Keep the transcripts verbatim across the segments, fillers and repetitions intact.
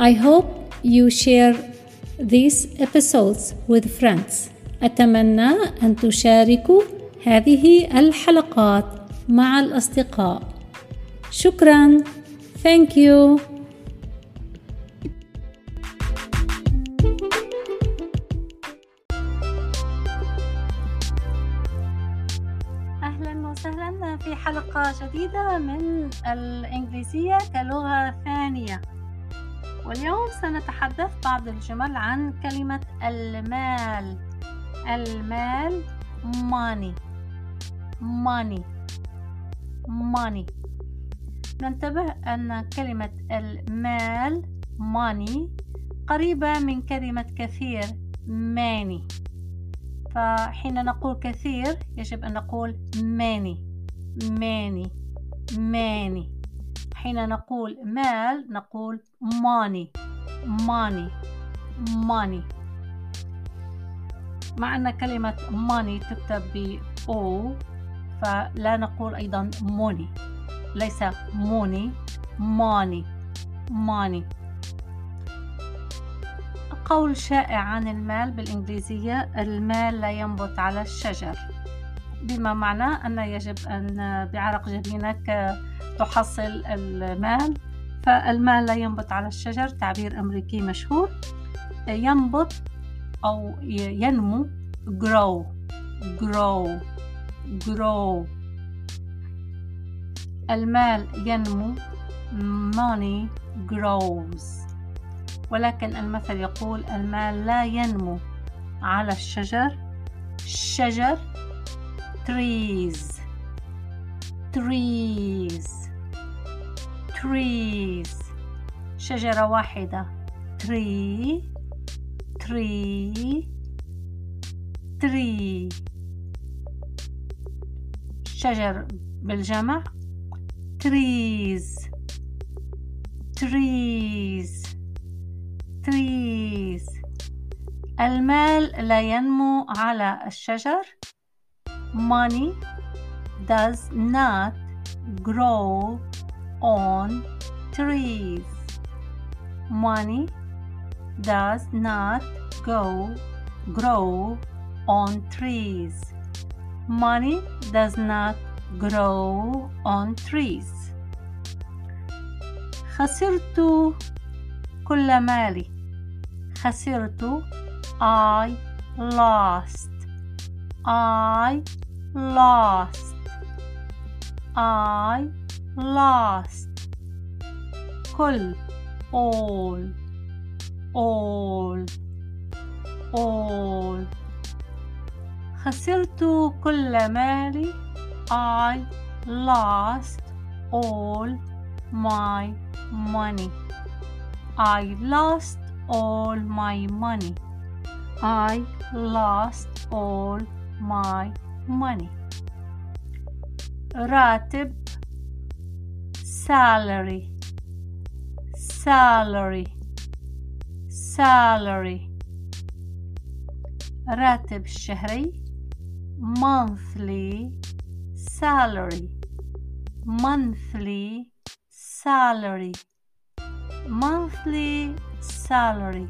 I hope you share these episodes with friends. أتمنى أن تشاركوا هذه الحلقات مع الأصدقاء. شكراً. Thank you. أهلاً وسهلاً في حلقة جديدة من الإنجليزية كلغة ثانية. واليوم سنتحدث بعض الجمل عن كلمة المال. المال money money money. ننتبه أن كلمة المال money قريبة من كلمة كثير many، فحين نقول كثير يجب أن نقول many many many. حين نقول مال نقول money money money. مع أن كلمة money تكتب ب O فلا نقول أيضا money، ليس money money money. قول شائع عن المال بالإنجليزية: المال لا ينبت على الشجر، بما معنى أن يجب أن بعرق جبينك تحصل المال، فالمال لا ينبت على الشجر تعبير أمريكي مشهور. ينبت أو ينمو grow grow grow. المال ينمو money grows. ولكن المثل يقول المال لا ينمو على الشجر. شجر trees trees trees. شجرة واحدة tree tree tree. شجر بالجمع trees trees trees. المال لا ينمو على الشجر. Money does not grow on trees. Money does not go grow on trees. Money does not grow on trees. خسرت كل مالي. خسرت I lost I lost I lost. كل all all all. خسرت كل مالي I lost all my money. I lost all my money. I lost all my money. راتب salary salary salary. راتب الشهري monthly salary monthly salary monthly salary.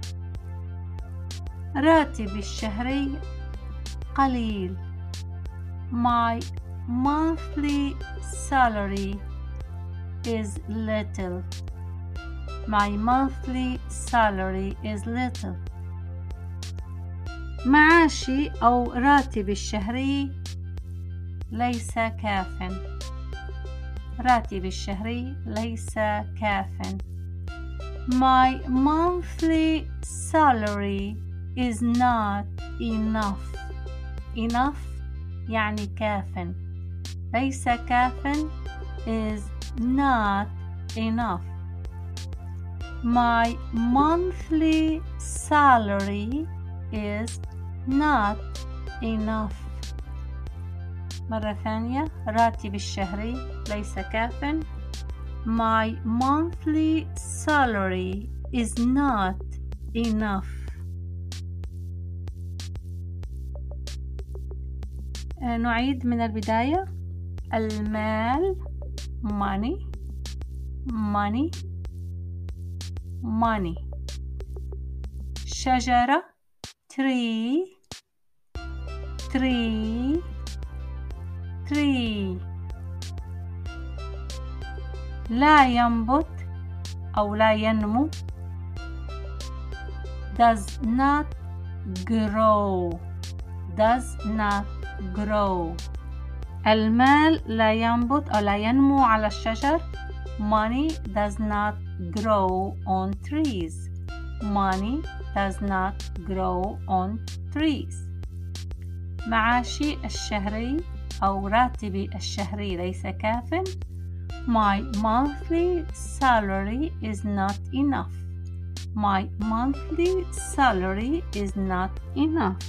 راتب الشهري قليل. My monthly salary is little. My monthly salary is little. معاشي أو راتبي الشهري ليس كافٍ. راتبي الشهري ليس كافٍ. My monthly salary is not enough. Enough يعني كافٍ. ليس كافٍ is not enough. My monthly salary is not enough. مرة ثانية، راتبي الشهري ليس كافٍ. My monthly salary is not enough. نعيد من البداية. المال money money. money. شجرة tree tree tree. لا ينبت أو لا ينمو does not grow does not grow. المال لا ينبت أو لا ينمو على الشجر. Money does not grow on trees. Money does not grow on trees. معاشي الشهري أو راتبي الشهري ليس كافٍ. My monthly salary is not enough. My monthly salary is not enough.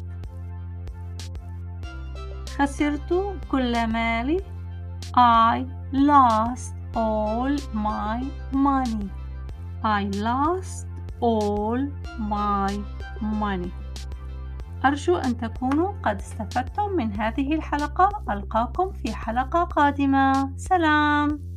خسرت كل مالي. I lost all my money. I lost all my money. أرجو أن تكونوا قد استفدتم من هذه الحلقة. ألقاكم في حلقة قادمة. سلام.